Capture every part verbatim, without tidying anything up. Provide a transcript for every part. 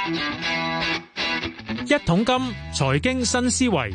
一桶金財經新思維，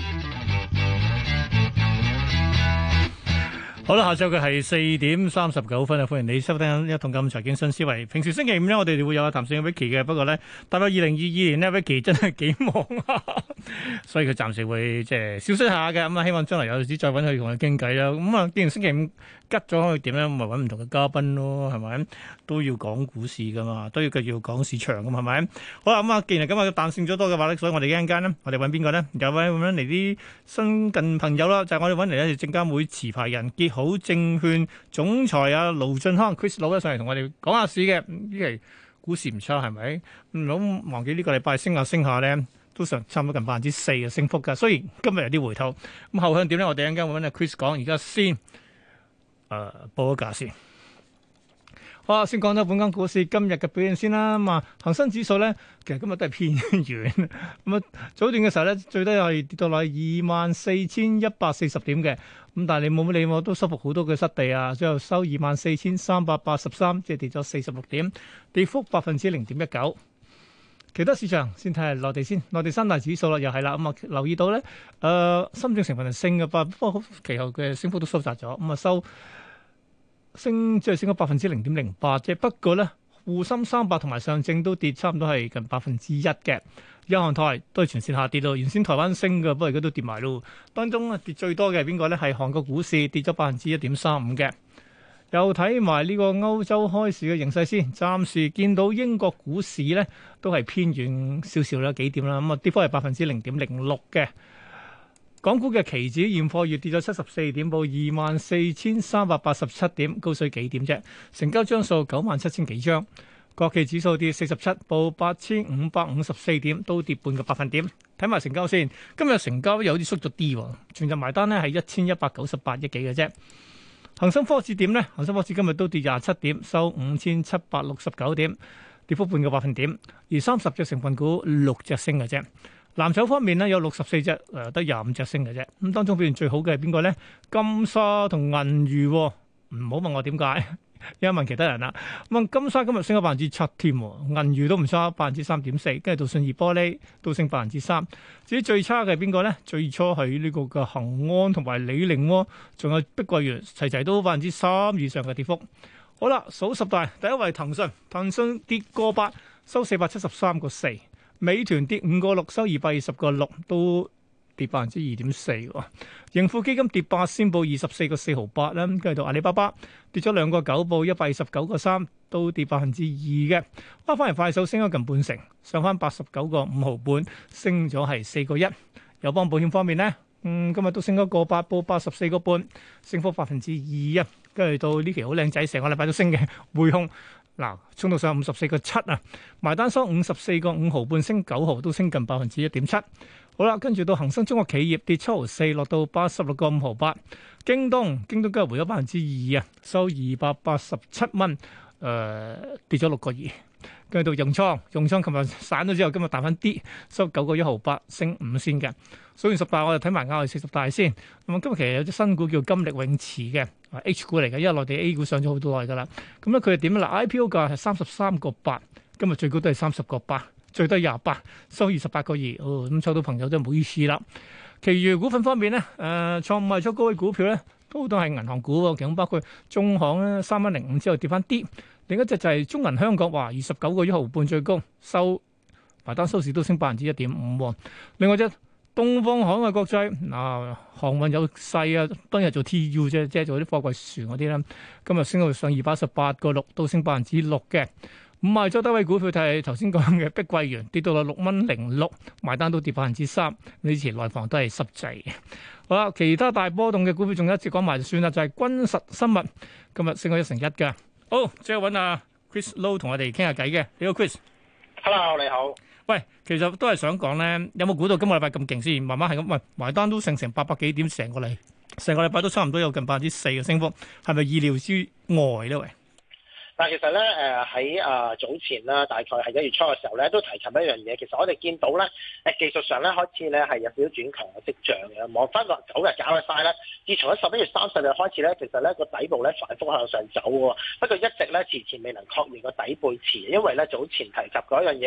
好啦，下晝嘅係四點三十九分啊！歡迎你收聽一桶金財經新思維。平時星期五咧，我哋會有阿譚勝 Vicky 嘅，不過咧，踏入二零二二年咧，Vicky 真係幾忙啊，所以佢暫時會即係消失下嘅。咁啊，希望將來有時再揾佢同佢傾偈啦。咁啊，既然星期五吉咗，可以點咧？咁咪揾唔同嘅嘉賓咯，係咪？都要講股市噶嘛，都要繼續講市場噶嘛，係咪？好啦，咁啊，既然今日彈性咗多嘅話咧，所以我哋一陣間咧，我哋揾邊個咧？有位揾嚟啲新近朋友啦，就係、是、我哋揾嚟咧，證監會持牌人結好證券總裁啊盧駿匡 Chris 佬咧上嚟同我哋講下市嘅。呢期股市唔差係咪？唔好忘記呢個禮拜升下升下咧，都上差唔多近百分之四嘅升幅㗎。雖然今日有啲回吐，咁後向點咧？我哋一陣間會揾阿 Chris 講。而家先誒、呃、報個價先。好啊，先講到本港股市今日嘅表現先啦。咁啊，恒生指數咧，其實今日都係偏軟。咁啊，早段嘅時候咧，最低係跌到落二萬四千一百四十點嘅。咁但係你冇乜理我，都收復好多嘅失地啊。最後收二萬四千三百八十三，即係跌咗四十六點，跌幅百分之零點一九。其他市場先睇下內地先，內地三大指數啦，又係啦。咁啊，留意到咧，誒、呃，深證成分係升嘅，不過其後嘅升幅都收窄咗。咁啊，收。升即係升咗百分之零點零八啫，不過咧，滬深三百同埋上證都跌差唔多係近百分之一嘅。日韓台都係全線下跌咯，原先台灣升嘅，不過而家都跌埋咯。當中啊跌最多嘅係邊個咧？係韓國股市跌咗百分之一點三五嘅。又睇埋呢個歐洲開市嘅形勢先，暫時見到英國股市咧都係偏軟少少啦，幾點啦？咁啊跌幅係百分之零點零六嘅。港股嘅期指現貨月跌咗七十四點，報二萬四千三百八十七點，高水幾點啫？成交張數九萬七千幾張。國企指數跌四十七，報八千五百五十四點，都跌半個百分點。睇埋成交先，今日成交有啲縮咗啲，全日埋單咧係一千一百九十八億幾嘅啫。恒生科指點咧？恒生科指今日都跌廿七點，收五千七百六十九點，跌幅半個百分點。而三十隻成分股六隻升嘅啫。藍籌方面咧，有六十四隻，誒得廿五隻升嘅啫。咁當中表現最好嘅係邊個咧？金沙同銀娛，唔好問我點解，因為問其他人啦。咁啊，金沙今日升咗百分之七添，銀娛都唔差，百分之三點四，跟住到信義玻璃都升百分之三。至於最差嘅係邊個咧？最初係呢個嘅恒安同埋李寧，仲有碧桂園，齊齊都百分之三以上嘅跌幅。好啦，數十大，第一位騰訊，騰訊跌個八，收四百七十三個四。美團跌五個六，收二百二十個六，都跌百分之二點四。盈富基金跌八仙，報二十四個四毫八啦。跟住到阿里巴巴跌咗兩個九，報一百二十九個三，都跌百分之二嘅。翻翻嚟快手升咗近半成，上翻八十九個五毫半，升咗係四個一。友邦保險方面咧，嗯，今日都升咗個八，報八十四個半，升幅百分之二一。跟住到呢期好靚仔，成個禮拜都升嘅匯控。嗱，衝到上五十四個七啊，埋單收五十四個五毫半，升九毫，都升近百分之一點七。好啦，跟住到恒生中國企業跌七毫四，落到八十六個五毫八。京東，京東今日回咗百分之二啊，收二百八十七蚊，誒、呃、跌咗六個二。跟住到融創，融創琴日散咗之後，今日彈翻啲，收九個一毫八，升五仙嘅。數完十大，我哋睇埋亞係四十大先。咁啊，今日其實有隻新股叫金力永磁嘅，H 股嚟嘅，因為內地 A 股上咗好多耐噶啦。咁咧佢係點咧？嗱 I P O 價係三十三個八，今日最高都係三十個八，最低廿八，收二十八個二。哦，咁抽到朋友真係唔好意思啦。其餘股份方面咧，誒、呃、創賣出高位股票咧，都都係銀行股喎，其中包括中行咧，三蚊零五之後跌翻啲。另一隻就係中銀香港，話二十九個一毫半最高，收埋單收市都升百分之一點五。另外隻東方海外國際，嗱航運有勢啊，當日做 T U 啫，即係做啲貨櫃船嗰啲啦。今日升到上二百一十八個六，都升百分之六嘅。五賣咗低位股票就係頭先講嘅碧桂園，跌到落六蚊零六，埋單都跌百分之三。以前內房都係濕滯嘅。好啦，其他大波動嘅股票仲有一隻講埋就算啦，就係、是、君實生物，今日升咗一成一嘅。好，即係揾阿 Chris Low 同我哋傾下偈嘅。你好 Chris。Hello， 你好。 喂，其實都係想講咧，有冇估到今個禮拜咁勁先？慢慢係咁，喂，埋單都升成八百幾點，成個禮，成個禮拜都差唔多有近百分之四嘅升幅，係咪意料之外咧？喂？ 但其實咧，誒喺啊早前啦，大概係一月初嘅時候咧，都提及一樣嘢。其實我哋見到咧，誒技術上咧開始咧係有少少轉強嘅跡象嘅。望翻個九日搞嘅晒咧，自從喺十一月三十日開始咧，其實咧個底部咧反覆向上走喎。不過一直咧遲遲未能確認個底背馳，因為咧早前提及嗰一樣嘢啦，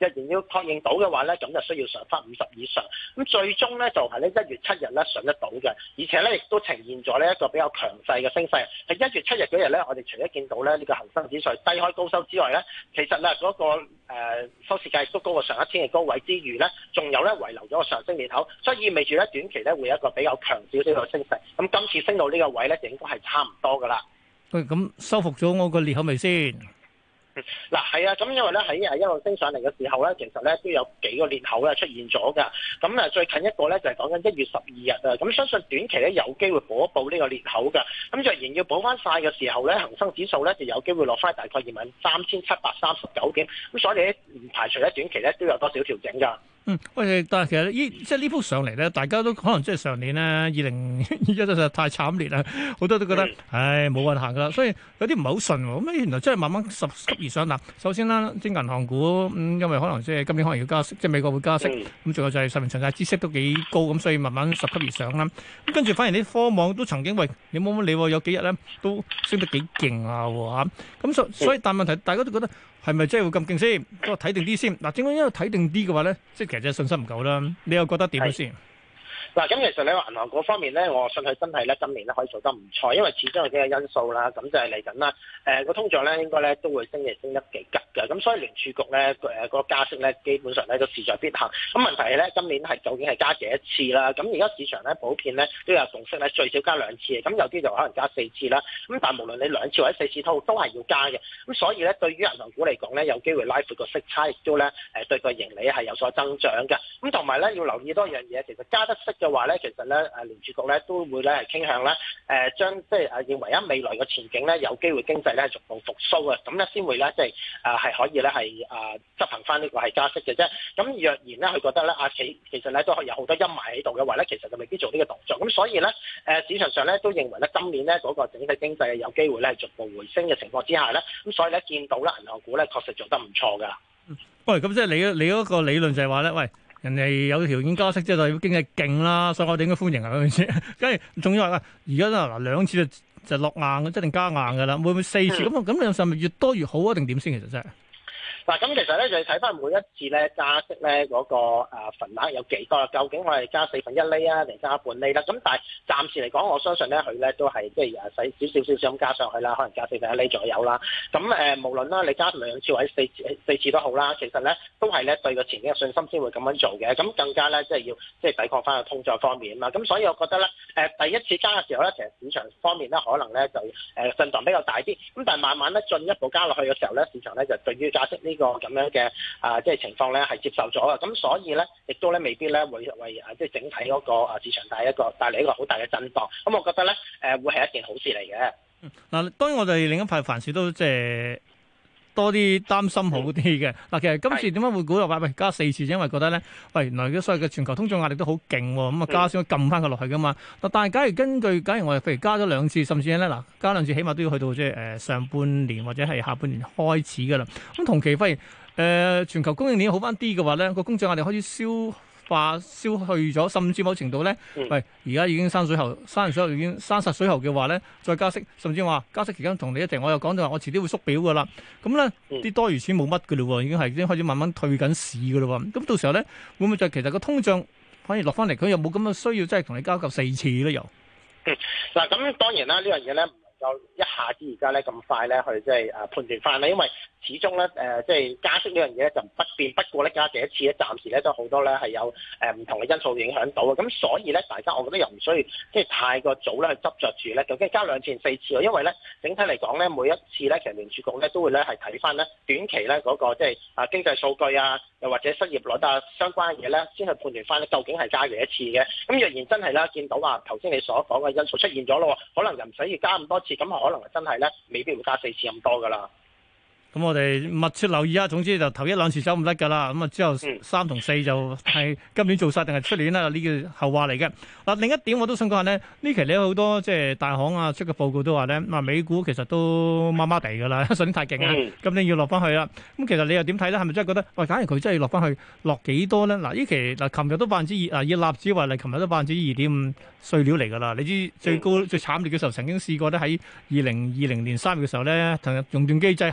若然要確認到嘅話咧，咁就需要上翻五十以上。咁最終咧就係咧一月七日咧上得到嘅，而且咧亦都呈現咗呢一個比較強勢嘅升勢。喺一月七日嗰日咧，我哋除咗見到咧呢個恒生指數低開高收之外咧，其實咧嗰個誒收市價亦都高過上一天嘅高位之餘咧，仲有咧遺留咗個上升裂口，所以意味住咧短期咧會有一個比較強少少嘅升勢。咁今次升到呢個位咧，就應該係差唔多噶啦。 喂，咁收復咗我個裂口未先？ 嗱係啊，咁因為咧喺誒一路升上嚟嘅時候咧，其實咧都有幾個裂口咧出現咗㗎。咁啊最近一個咧就係講緊一月十二日啊，咁相信短期咧有機會補一補呢個裂口㗎。咁若然要補翻晒嘅時候咧，恒生指數咧就有機會落翻大概二萬三千七百三十九點。咁所以咧唔排除咧短期咧都有多少調整㗎。 嗯，喂，但係其實呢，即係呢幅上嚟咧，大家都可能即係上年咧，二零一真係太慘烈啦，好多都覺得，嗯、唉，冇運行噶啦，所以有啲唔係好順喎。咁原來真係慢慢十級而上嗱。首先啦，啲銀行股，嗯，因為可能即係今年可能要加息，即係美國會加息，咁仲、嗯、有就係十年長債孳息都幾高，咁所以慢慢十級而上啦。咁跟住反而啲科網都曾經喂，你冇乜理喎，有幾日咧都升得幾勁啊喎，咁所所以但問題大家都覺得。係咪真係會咁勁先？都睇定啲先。嗱，正因因為睇定啲嘅話咧，即係其實真係信心唔夠啦。你又覺得點樣先？ 嗱，咁其實你話銀行嗰方面咧，我信佢真係咧今年咧可以做得唔錯，因為始終有幾個因素啦。咁就係嚟緊啦，誒個通脹咧應該咧都會升嚟升得幾急嘅。咁所以聯儲局咧誒個加息咧基本上咧都勢在必行。咁問題係咧今年係究竟係加幾多次啦？咁而家市場咧普遍咧都有共識咧最少加兩次嘅。咁有啲就可能加四次啦。咁但係無論你兩次或者四次都都係要加嘅。咁所以咧對於銀行股嚟講咧有機會拉闊個息差，亦都咧誒對個盈利係有所增長嘅。咁同埋咧要留意多樣嘢，其實加得息嘅話咧，其實咧誒聯儲局咧都會咧係傾向咧誒將即係誒認為喺未來嘅前景咧有機會經濟咧係逐步復甦嘅，咁咧先會咧即係誒係可以咧係誒執行翻呢個係加息嘅啫。咁若然咧佢覺得咧啊其其實咧都係有好多陰霾喺度嘅話咧，其實就未必做呢個動作。咁所以咧誒市場上咧都認為咧今年咧嗰個整體經濟有機會咧係逐步回升嘅情況之下咧，咁所以咧見到咧銀行股咧確實做得唔錯㗎。 喂，咁即係你你嗰個理論就係話咧，喂。人哋有條件加息，即係代表經濟勁啦，所以我哋應該歡迎啊嗰陣時。跟住仲要話而家嗱兩次就就落硬嘅，即係定加硬嘅啦。會唔會四次咁啊？咁、嗯、你係咪越多越好啊？定點先？其實真係。 嗱，咁其實咧就要睇翻每一次咧加息咧嗰個誒份額有幾多？究竟我係加四分一厘啊，定加半厘啦？咁但係暫時嚟講，我相信咧佢咧都係即係誒使少少少少咁加上去啦，可能加四分一厘左右啦。咁誒無論啦，你加兩次或者四次四次都好啦，其實咧都係咧對個前景嘅信心先會咁樣做嘅。咁更加咧即係要即係抵抗翻個通脹方面啊嘛。咁所以我覺得咧誒第一次加嘅時候咧，其實市場方面咧可能咧就誒震盪比較大啲。咁但係慢慢咧進一步加落去嘅時候咧，市場咧就對於加息呢個咁樣嘅啊，即係情況咧係接受咗嘅，咁所以咧亦都咧未必咧會為啊即係整體嗰個啊市場帶一個帶嚟一個好大嘅震盪，咁我覺得咧誒會係一件好事嚟嘅。 嗱、嗯，當然我哋另一派凡事都即係多啲擔心好啲嘅。嗱、嗯，其實今次點解會估到話喂加四次？因為覺得咧，喂原來而家所有嘅全球通脹壓力都好勁喎，咁啊加先可以撳翻佢落去噶嘛。嗱，但係假如根據假如我哋譬如加咗兩次，甚至咧嗱加兩次，起碼都要去到即係誒上半年或者係下半年開始噶啦。咁同期發現。誒、呃、全球供應鏈好翻啲嘅話咧，個通脹壓力開始消化消去咗，甚至某程度咧，嗯、喂而家已經山水喉，山水喉已經山實水喉嘅話咧，再加息，甚至話加息期間同你一齊，我又講到話我遲啲會縮表噶啦，咁咧啲多餘錢冇乜嘅嘞喎，已經係已經開始慢慢退緊市嘅嘞喎，咁到時候咧會唔會就其實個通脹反而落翻嚟，佢又冇咁嘅需要，即係同你交夠四次咧又？ 嗱咁、嗯、當然啦，呢樣嘢咧。就一下子而家咧咁快咧去即係誒判斷翻啦，因為始終咧誒即係加息呢樣嘢咧就不變，不過咧加幾多次咧，暫時咧都好多咧係有誒唔同嘅因素影響到嘅，咁所以咧大家我覺得又唔需要即係太過早咧去執着住咧，究竟加兩次定四次喎？因為咧整體嚟講咧每一次咧其實聯儲局咧都會咧係睇翻咧短期咧嗰個即係啊經濟數據啊，又或者失業率啊相關嘅嘢咧，先去判斷翻咧究竟係加幾多次嘅。咁若然真係啦，見到話頭先你所講嘅因素出現咗咯，可能又唔使要加咁多次。咁可能真係咧，未必會加四次咁多噶啦。咁我哋密切留意啊。總之就頭一兩次走唔甩噶啦。咁啊之後三同四就係今年做晒定係出年啦？呢個後話嚟嘅。嗱，另一點我都想講下咧，呢期你有好多即係大行啊出嘅報告都話咧，啊美股其實都麻麻地噶啦，上年太勁啊，今年要落翻去啦。咁其實你又點睇咧？係咪真係覺得喂，假如佢真係要落翻去，落幾多咧？嗱，呢期嗱，琴日都百分之二啊，以納指為例，琴日都百分之二點五碎料嚟噶啦。你知最高最慘烈嘅時候，曾經試過咧喺二零二零年三月嘅時候咧，同熔斷機制下起碼都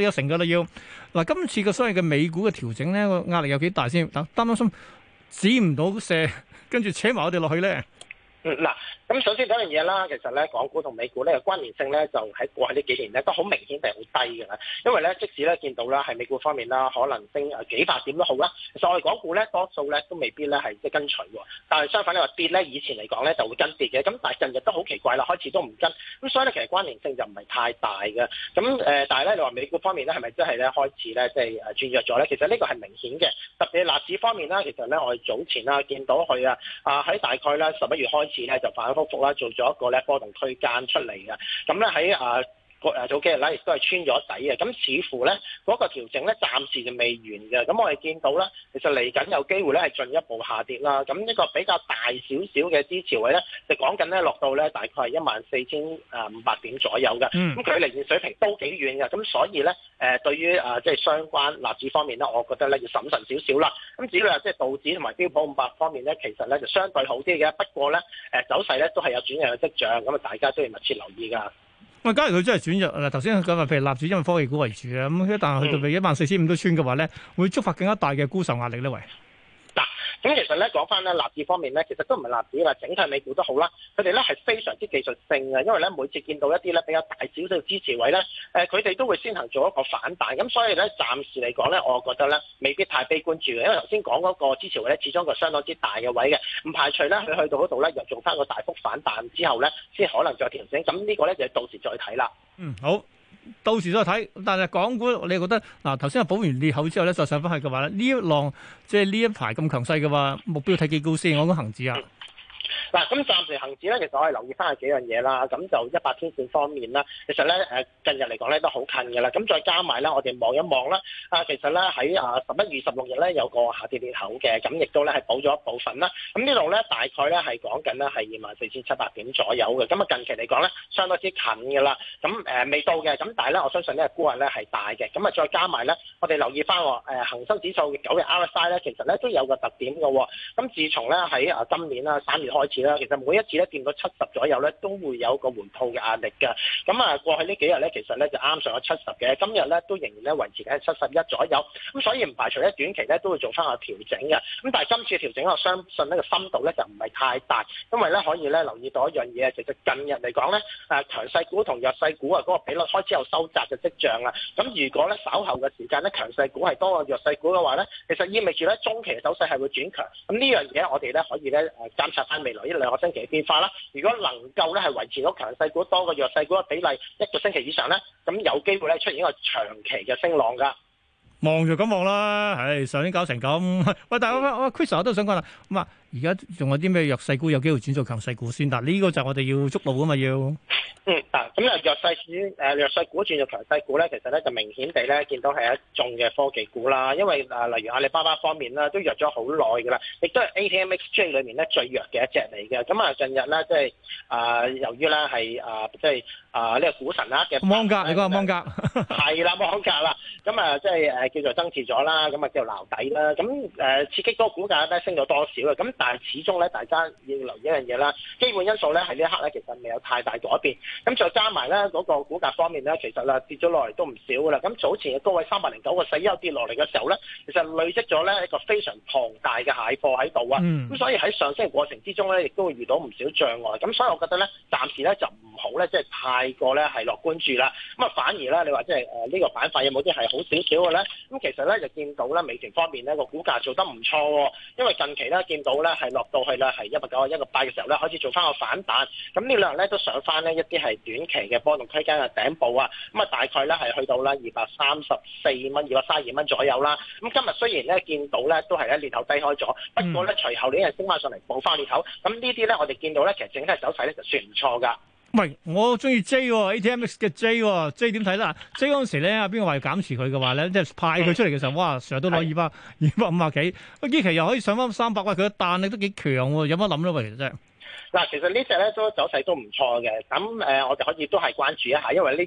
一成噶啦要。嗱，今次嘅所謂嘅美股嘅調整咧，個壓力有幾大先？擔唔擔心止唔到射，跟住扯埋我哋落去咧？ 嗯，嗱，咁首先嗰樣嘢啦，其實咧，港股同美股咧嘅關聯性咧，就喺過去呢幾年咧都好明顯地好低嘅啦。因為咧，即使咧見到啦，係美股方面啦，可能升誒幾百點都好啦，其實我哋港股咧多數咧都未必咧係即係跟隨喎。但係相反你話跌咧，以前嚟講咧就會跟跌嘅。咁但係近日都好奇怪啦，開始都唔跟。咁所以咧，其實關聯性就唔係太大嘅。咁誒、呃，但係咧，你話美股方面咧係咪真係咧開始咧即係誒轉弱咗咧？其實呢個係明顯嘅。特別係納指方面啦，其實咧我哋早前啦見到佢啊啊喺大概咧十一月開始咧就反反覆覆啦，做咗一個咧波動區間出嚟嘅。咁咧喺啊個誒早幾日咧，亦都係穿咗底嘅。咁似乎咧嗰、那個調整咧暫時就未完嘅。咁我哋見到咧，其實嚟緊有機會咧係進一步下跌啦。咁呢個比較大少少嘅支持位咧，就講緊咧落到咧大概係一萬四千誒五百點左右嘅。咁、嗯、距離現水平都幾遠嘅。咁所以咧誒、呃，對於啊即係相關納指方面咧，我覺得咧要審慎少少啦。咁至於話即係道指同埋標普五百方面咧，其實咧就相對好啲嘅。不過咧誒走勢咧都係有轉弱嘅跡象，咁啊大家都要密切留意㗎。 喂，假如佢真係轉弱嗱，頭先講話譬如納指因為科技股為主啊，咁一旦去到譬如一萬四千五都穿嘅話咧，會觸發更加大嘅沽售壓力咧，喂。 咁其實咧講翻咧納指方面咧，其實都唔係納指啦，整體美股都好啦。佢哋咧係非常之技術性嘅，因為咧每次見到一啲咧比較大少少嘅支持位咧，誒佢哋都會先行做一個反彈。咁所以咧暫時嚟講咧，我覺得咧未必太悲觀住嘅，因為頭先講嗰個支持位咧，始終個相當之大嘅位嘅，唔排除咧佢去到嗰度咧又做翻個大幅反彈之後咧，先可能再調整。咁呢個咧就到時再睇啦。 嗯，好。到時再睇，但係港股你覺得嗱頭先係補完裂口之後咧，再上翻去嘅話咧，呢一浪即係呢一排咁強勢嘅話，目標睇幾高先？我講恒指啊。 嗱，咁暫時恒指咧，其實我係留意翻係幾樣嘢啦。咁就一百天線方面啦，其實咧誒近日嚟講咧都好近嘅啦。咁再加埋咧，我哋望一望啦。啊，其實咧喺啊十一月十六日咧有個下跌裂口嘅，咁亦都咧係補咗一部分啦。咁呢度咧大概咧係講緊咧係二萬四千七百點左右嘅。咁啊近期嚟講咧相當之近嘅啦。咁誒、呃、未到嘅，咁但係咧我相信呢個沽壓咧係大嘅。咁啊再加埋咧，我哋留意翻誒恆生指數嘅九日 R S I 咧，其實咧都有個特點嘅喎。咁自從咧喺啊今年啦三月開始啦，其實每一次咧見到七十左右咧，都會有個回吐嘅壓力㗎。咁啊，過去呢幾日咧，其實咧就啱上咗七十嘅，今日咧都仍然咧維持喺七十一左右。咁所以唔排除咧短期咧都會做翻個調整嘅。咁但係今次調整我相信呢個深度咧就唔係太大，因為咧可以咧留意到一樣嘢，其實近日嚟講咧誒強勢股同弱勢股啊嗰個比率開始有收窄嘅跡象啦。咁如果咧稍後嘅時間咧強勢股係多過弱勢股嘅話咧，其實意味住咧中期嘅走勢係會轉強。咁呢樣嘢我哋咧可以咧誒監察翻未來一兩個星期嘅變化啦。如果能夠咧係維持到強勢股多過弱勢股嘅比例一個星期以上咧，咁有機會咧出現一個長期嘅升浪㗎。 望就咁望啦，唉，上年搞成咁，喂，但係我我 Chris 我都想講啦，咁啊，而家仲有啲咩弱勢股有機會轉做強勢股先？嗱，呢個就係我哋要捉路啊嘛，要。嗯， 啊，咁啊弱勢股誒弱勢股轉做強勢股咧，其實咧就明顯地咧見到係一眾嘅科技股啦，因為啊例如阿里巴巴方面啦，都弱咗好耐㗎啦，亦都係 A T M X J 裏面咧最弱嘅一隻嚟嘅。咁啊近日咧即係啊由於咧係啊即係啊呢個股神啦嘅芒格，你講下芒格係啦芒格啦，咁啊即係誒叫做增持咗啦，咁啊叫做撈底啦，咁誒刺激嗰個股價咧升咗多少啊？咁但係始終咧大家要留意一樣嘢啦，基本因素咧喺呢一刻咧其實未有太大改變。咁再加埋咧嗰個股價方面咧，其實啦跌咗落嚟都唔少噶啦。咁早前嘅高位三百零九個四一跌落嚟嘅時候咧，其實累積咗咧一個非常龐大嘅蟹貨喺度啊。咁、嗯、所以喺上升嘅過程之中咧，亦都會遇到唔少障礙。咁所以我覺得咧，暫時咧就唔好咧，即係太過咧係樂觀住啦。咁啊反而咧，你話即係誒呢個板塊有冇啲係好少少嘅咧？咁其實咧就見到咧美團方面咧個股價做得唔錯喎，因為近期咧見到咧係落到去咧係一百九啊一個八嘅時候咧開始做翻個反彈。咁呢兩日咧都上翻呢一啲係短期嘅波動區間嘅頂部啊，咁啊大概咧係去到啦二百三十四蚊、二百三十二蚊左右啦。咁今日雖然咧見到咧都係咧裂口低開咗，不過咧隨後呢日升翻上嚟補翻裂口，咁呢啲咧我哋見到咧其實整體走勢咧就算唔錯噶。 喂，我中意 J 喎 A T M X 嘅 J 喎 J 點睇啦 ？J 嗰陣時咧，邊個話要減持佢嘅話咧，即係派佢出嚟嘅時候，哇，成日都攞二百二百五啊幾，呢期又可以上翻三百，喂，佢嘅彈力都幾強喎，有乜諗咧？喂，其實真係。嗱， 其實呢隻咧都走勢都唔錯嘅，咁誒、呃、我哋可以都係關注一下，因為呢隻咧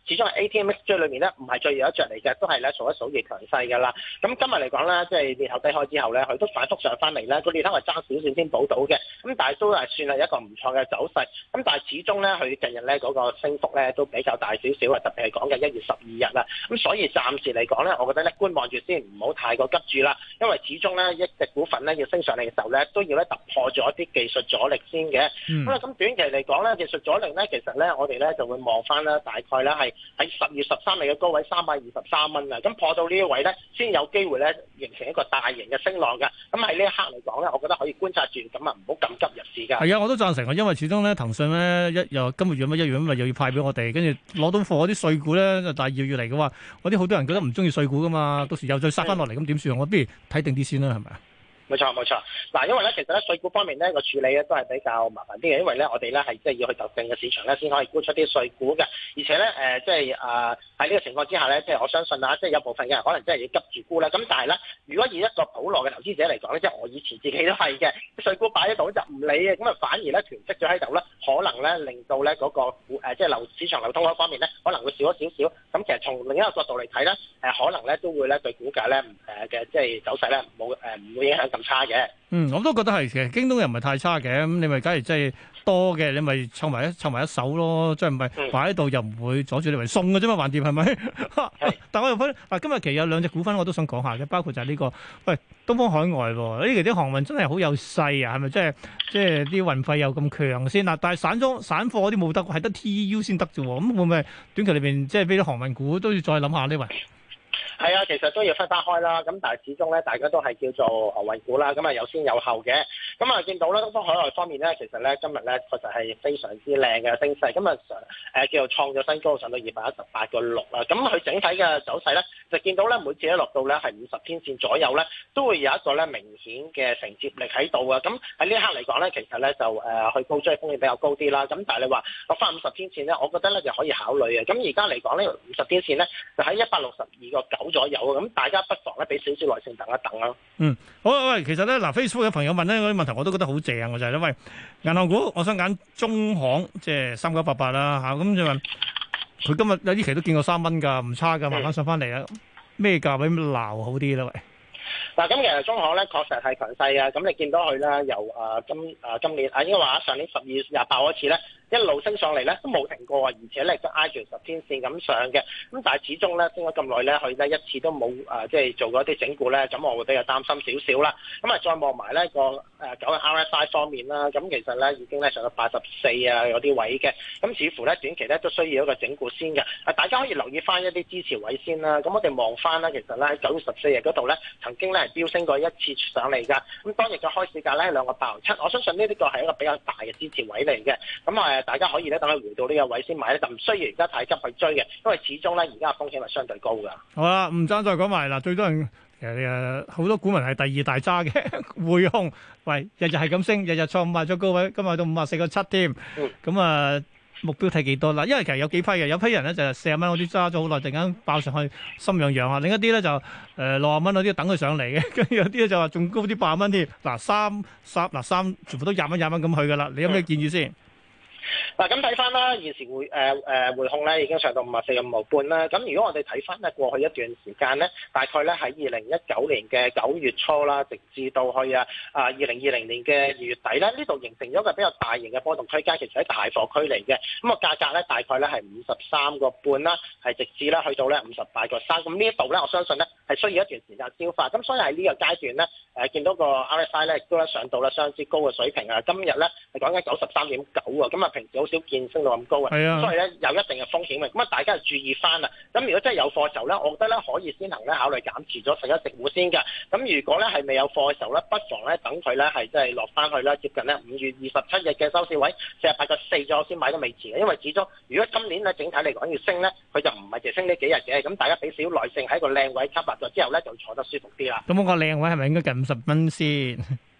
始終係 A T M X J 裏面咧唔係最有一隻嚟嘅，都係咧數一數二強勢㗎啦。咁今日嚟講咧，即係裂口低開之後咧，佢都反覆上翻嚟咧，個裂口係爭少少先補到嘅，咁但係都係算係一個唔錯嘅走勢。咁但係始終咧，佢近日咧嗰個升幅咧都比較大少少啊，特別係講緊一月十二日啦。咁所以暫時嚟講咧，我覺得咧觀望住先，唔好太過急住啦。因為始終咧一隻股份咧要升上嚟嘅時候咧，都要咧突破咗一啲技術阻力先嘅。咁啊、嗯，咁短期嚟講咧，技術阻力咧其實咧我哋咧就會望翻啦，大概咧係喺十月十三日嘅高位三百二十三蚊啊。咁破到呢一位咧，先有機會咧形成一個大型嘅升浪㗎。咁喺呢一刻嚟講咧，我覺得可以觀察住，咁啊唔好咁急入市㗎。 係啊，我都贊成啊，因為始終咧騰訊咧一又今個月乜一月咁咪又要派俾我哋，跟住攞到貨嗰啲碎股咧就大二月嚟嘅話，嗰啲好多人覺得唔中意碎股㗎嘛，到時又再殺翻落嚟咁點算？我不如睇定啲先啦，係咪啊？ 冇錯冇錯，嗱，因為咧其實咧碎股方面咧個處理咧都係比較麻煩啲嘅，因為咧我哋咧係即係要去特定嘅市場咧先可以沽出啲碎股嘅，而且咧誒、呃、即係啊喺呢個情況之下咧，即係我相信啊，即係有部分嘅人可能真係要急住沽啦，咁但係咧如果以一個普羅嘅投資者嚟講咧，即係我以前自己都係嘅，碎股擺喺度就唔理嘅，咁啊反而咧囤積咗喺度咧，可能咧令到咧嗰個股誒即係流市場流通嗰方面咧可能會少咗少少，咁其實從另一個角度嚟睇咧，誒可能咧都會咧對股價咧誒嘅即係走勢咧冇誒唔會影響咁差嘅。 嗯，我都覺得係，其實京東又唔係太差嘅，咁你咪假如真係多嘅，你咪湊埋一湊埋一手咯，即係唔係擺喺度又唔會阻住你為送嘅啫嘛，橫掂係咪？但我又覺得嗱，今日其實有兩隻股份我都想講下嘅，包括就係呢、這個喂東方海外喎，呢期啲航運真係好有勢啊，係咪即係即係啲運費又咁強先嗱？但係散裝散貨嗰啲冇得，係得 T U 先得啫喎，咁會唔會短期裏邊即係俾啲航運股都要再諗下呢？喂？ 係啊，其實都要分翻開啦。咁但係始終咧，大家都係叫做航運股啦。咁啊有先有後嘅。咁啊見到咧，東方海外方面咧，其實咧今日咧確實係非常之靚嘅升勢。今日上誒叫做創咗新高，上到二百一十八個六啦。咁佢整體嘅走勢咧，就見到咧每次一落到咧係五十天線左右咧，都會有一個咧明顯嘅承接力喺度啊。咁喺呢一刻嚟講咧，其實咧就誒、呃、去高追風險比較高啲啦。咁但係你話落翻五十天線咧，我覺得咧就可以考慮嘅。咁而家嚟講咧，五十天線咧就喺一百六十二個九左右啊。咁大家不妨咧俾少少耐性等一等啦。 嗯，好啊，喂，其實咧嗱 Facebook 嘅朋友問咧嗰啲問題我都覺得好正啊，就係、是、咧，喂，銀行股我想揀中行，即係三九八八啦嚇，咁就問佢今日有啲期都見過三蚊㗎，唔差㗎，慢慢上翻嚟啊，咩價位鬧好啲咧？喂， 嗱，咁其實中行咧確實係強勢啊，咁你見到佢啦，由誒、呃、今誒、呃、今年啊，應該話上年十二月廿八嗰次咧。一路升上嚟咧都冇停過啊，而且咧都挨住十天線咁上嘅。咁但係始終咧升咗咁耐咧，佢咧一次都冇誒即係做過一啲整固咧，咁我會比較擔心少少啦。咁啊再望埋咧個誒九日 R S I 方面啦，咁其實咧已經咧上到八十四啊嗰啲位嘅，咁似乎咧短期咧都需要一個整固先嘅。啊大家可以留意翻一啲支持位先啦。咁我哋望翻啦，其實咧喺九月十四日嗰度咧曾經咧係飆升過一次上嚟㗎。咁當日嘅開市價咧係兩個八毫七，我相信呢啲個係一個比較大嘅支持位嚟嘅。咁啊〜大家可以咧等佢回到呢個位先買咧，就唔需要而家太急去追嘅，因為始終咧而家嘅風險係相對高㗎。好啦，唔爭再講埋嗱，最多人其實誒好多股民係第二大揸嘅匯控，喂，日日係咁升，日日創賣咗高位，今日到五十四個七添。咁啊、嗯、目標睇幾多啦？因為其實有幾批嘅，有批人咧就係四十蚊嗰啲揸咗好耐，突然間爆上去心癢癢啊；另一啲咧就誒六十蚊嗰啲等佢上嚟嘅，跟住有啲咧就話仲高啲八十蚊添。嗱三三嗱三全部都廿蚊廿蚊咁去㗎啦。你有咩建議先？ 嗱咁睇翻啦，現時匯誒誒匯控咧已經上到五十四個五毫半啦。咁如果我哋睇翻咧過去一段時間咧，大概咧喺二零一九年嘅九月初啦，直至到去啊啊二零二零年嘅二月底咧，呢度形成咗一個比較大型嘅波動區間，其實喺大貨區嚟嘅。咁個價格咧大概咧係五十三個半啦，係直至咧去到咧五十八個三。咁呢一度咧，我相信咧係需要一段時間消化。咁所以喺呢個階段咧，誒見到個 R S I 咧亦都咧上到咧相當之高嘅水平啊。今日咧係講緊九十三點九啊，咁啊平時好少見升到咁高嘅，啊、所以咧有一定嘅風險嘅，咁啊大家就注意翻啦。咁如果真係有貨嘅時候咧，我覺得咧可以先行咧考慮減持咗十一隻股先嘅。咁如果咧係未有貨嘅時候咧，不妨咧等佢咧係即係落翻去啦，接近咧五月二十七日嘅收市位四十八個四左右先買都未遲嘅。因為始終如果今年咧整體嚟講要升咧，佢就唔係淨係升呢幾日嘅。咁大家俾少少耐性喺個靚位吸納咗之後咧，就坐得舒服啲啦。 咁我個靚位係咪應該近五十蚊先？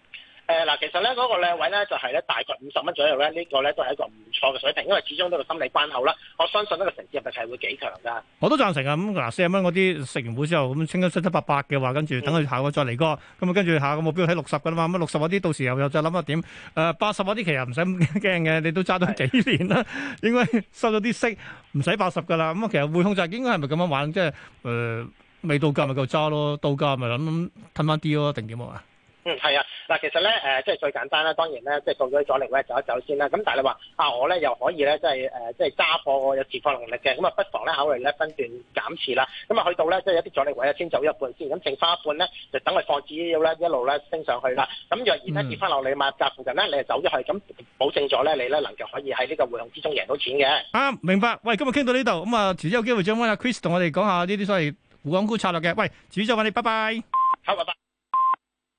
誒嗱，其實咧嗰個靚位咧就係咧大概五十蚊左右咧，呢個咧都係一個唔錯嘅水平，因為始終都係個心理關口啦。我相信呢個承接力係會幾強㗎。 我都贊成啊！咁嗱，四十蚊嗰啲食完糊之後，咁清得七七八八嘅話，跟住等佢下個再嚟過，咁啊跟住下個目標喺六十㗎啦嘛。咁六十嗰啲到時候又再諗下點？誒八十嗰啲其實唔使咁驚嘅，你都揸咗幾年啦，應該收咗啲息，唔使八十㗎啦。咁啊，其實匯控就係應該係咪咁樣玩？即係誒未到價咪夠揸咯，到價咪諗褪翻啲咯，定點啊？ 嗯，係啊，嗱，其實咧，誒、呃，即係最簡單啦，當然咧，即係到咗阻力位走一走先啦。咁但係你話啊，我咧又可以咧，即係誒，即係揸貨有持貨能力嘅，咁啊，不妨咧考慮咧分段減持啦。咁啊，去到咧即係一啲阻力位啊，先走一半先，咁剩翻一半咧，就等佢放止腰咧，一路咧升上去啦。咁若然咧跌翻落你買入價附近咧，你就走咗去，咁保證咗咧，你咧能夠可以喺呢個匯控之中贏到錢嘅。 啊，明白。喂，今日傾到呢度，咁啊，遲啲有機會再揾阿 Chris 同我哋講下呢啲所謂滬港股策略嘅。喂，遲啲再揾你，拜拜。